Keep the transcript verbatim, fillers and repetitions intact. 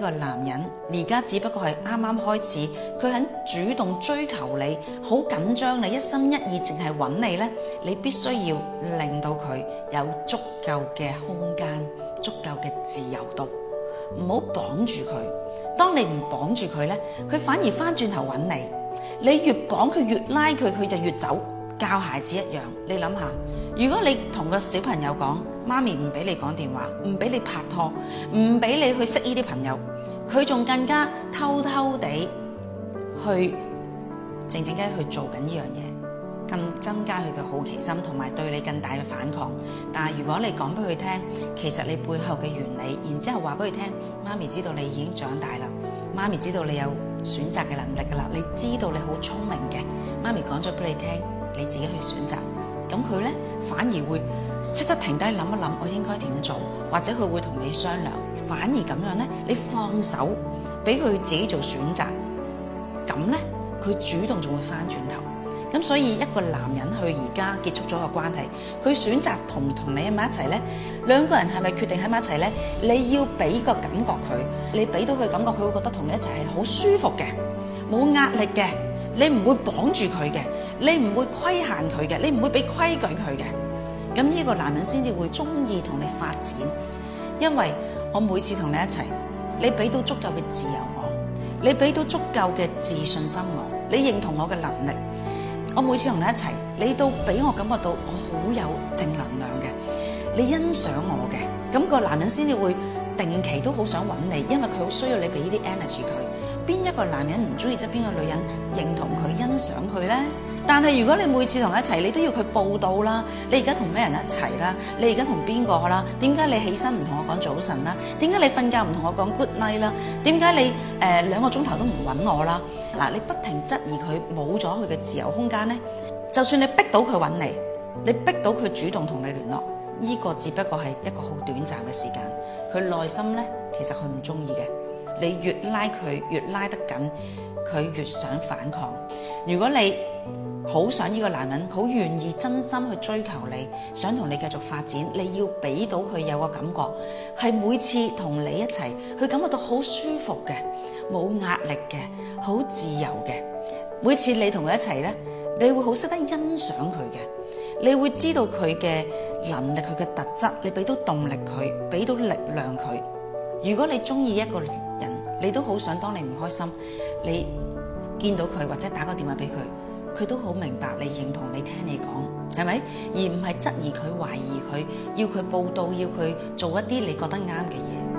個男人而家只不過係啱啱開始，佢肯主動追求你，好緊張你，一心一意淨係揾你呢，你必須要令到佢有足夠嘅空間，足夠嘅自由度，唔好綁住佢。當你唔綁住佢呢，佢反而翻轉頭揾你。你越綁佢，越拉佢，佢就越走。教孩子一樣，你諗下，如果你同個小朋友講，媽咪唔俾你講電話，唔俾你拍拖，唔俾你去識呢啲朋友，佢仲更加偷偷地去靜靜雞去做緊呢樣嘢，更增加佢嘅好奇心，同埋對你更大嘅反抗。但係如果你講俾佢聽，其實你背後嘅原理，然之後話俾佢聽，媽咪知道你已經長大啦，媽咪知道你有選擇嘅能力噶啦，你知道你好聰明嘅，媽咪講咗俾你聽，你自己去選擇。咁佢咧反而會即刻停低諗一諗，我應該點做，或者佢會同你商量。反而咁樣咧，你放手俾佢自己做選擇，咁咧佢主動仲會翻轉頭。咁所以一個男人去而家結束咗個關係，佢選擇同唔同你喺埋一齊咧，兩個人係咪決定喺埋一齊咧？你要俾個感覺佢，你俾到佢感覺，佢會覺得同你一齊係好舒服嘅，冇壓力嘅，你唔會綁住佢嘅，你唔會規限佢嘅，你唔會俾規矩佢嘅。咁呢個男人先至會中意同你發展，因為我每次同你一齊，你俾到足夠嘅自由我，你俾到足夠嘅自信心我，你認同我嘅能力。我每次同你一齊，你都俾我感覺到我好有正能量嘅，你欣賞我嘅，咁個男人先至會定期都好想揾你，因為佢好需要你俾呢啲 energy 佢。邊一個男人唔中意側邊個女人認同佢、欣賞佢呢？但係如果你每次同佢一齊，你都要佢報到啦，你而家同咩人一齊啦？你而家同邊個啦？點解你起身唔同我講早晨啦？點解你瞓覺唔同我講 good night 啦？點解你誒兩個鐘頭都唔揾我啦？嗱，你不停質疑佢，冇咗佢嘅自由空間呢，就算你逼到佢揾你，你逼到佢主動同你聯絡，呢個只不過係一個好短暫嘅時間，佢內心呢，其實佢唔中意嘅。你越拉佢，越拉得緊，佢越想反抗。如果你好想呢個男人，好願意真心去追求你，想同你繼續發展，你要俾到佢有個感覺，係每次同你一齊，佢感覺到好舒服嘅，冇壓力嘅，好自由嘅。每次你同佢一齊呢，你會好識得欣賞佢嘅，你會知道佢嘅能力，佢嘅特質，你俾到動力佢，俾到力量佢。如果你中意一個人，你都好想當你唔開心，你見到佢或者打個電話俾佢，佢都好明白你，認同你，聽你講，係咪？而唔係質疑佢、懷疑佢，要佢報到，要佢做一啲你覺得啱嘅嘢。